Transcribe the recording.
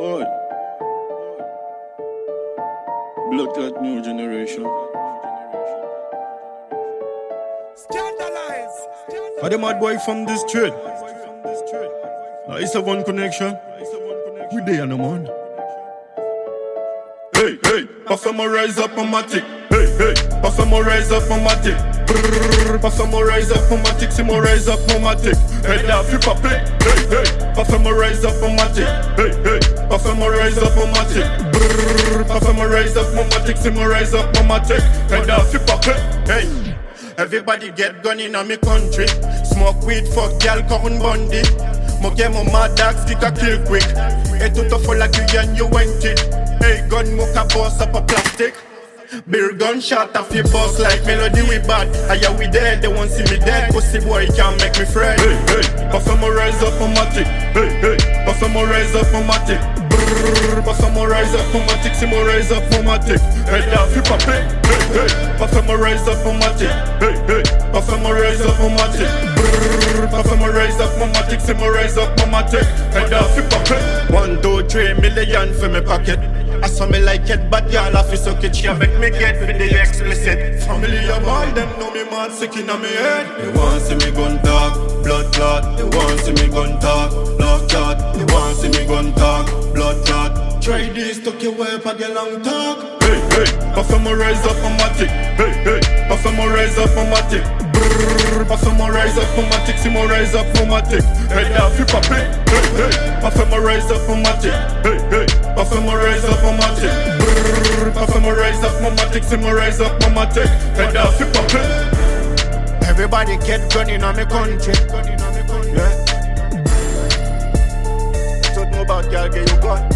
Boy. Blood clot new generation. Scandalize. Are the mad boy from this trade? Now it's a one connection. We there on the man. Hey, hey, pass some more rise up on my tick. Hey, hey, pass some more rise up on my tick. Pass some more rise up on my tick. Some more rise up on my tick. Head off you pop it. Hey, hey, pass some more rise up on my tick. Hey, hey, pass some more rise up on my tick. Pass some more rise up on my tick. Some more rise up on my tick. Head off you pop it. Hey, everybody get gun in a me country. Smoke weed, fuck girl, corn bundy. Mo get mo mad dogs, kick a kill quick. Et tout au fond la cuillère, you went it. Hey, gun mocha boss up a plastic. Beer gunshot off your boss like melody we bad. Aya we dead, they won't see me dead. Pussy boy can't make me friend. Hey, hey, pass some more rise up on my tick. Hey, hey, pass some more rise up on my tick. Pass some more rise up on my tick. Some more rise up on my tick. Head off you pop it. Hey, hey, pass some more rise up on my tick. Hey, hey, pass some more rise up on my tick. Pass some more rise up on my tick. Some more rise up on my tick. Head off you pop it. 1, 2, 3 million for me pocket. I saw me like it, but y'all have to suck it. She make me get with the explicit. Family of all them know me mad sick in my head. They want see me gun talk, blood clot. They want see me gun talk, love clot. They want see me gun talk, blood clot. Try this, tuck your wipe and get long talk. Hey, hey, pass some more rise up on my tick. Hey, hey, pass some more rise up on my tick. Pass some more rise up on my tick. Some more rise up on my tick. Head off you pop it. Hey, hey, pass some more rise up on my tick. Hey, hey, pass some more rise up on my tick. Pass some more rise up on my tick. Some more rise up on my tick. Head off you pop it. Everybody get gun in my country. Yeah. Talk more about girl, get your gun.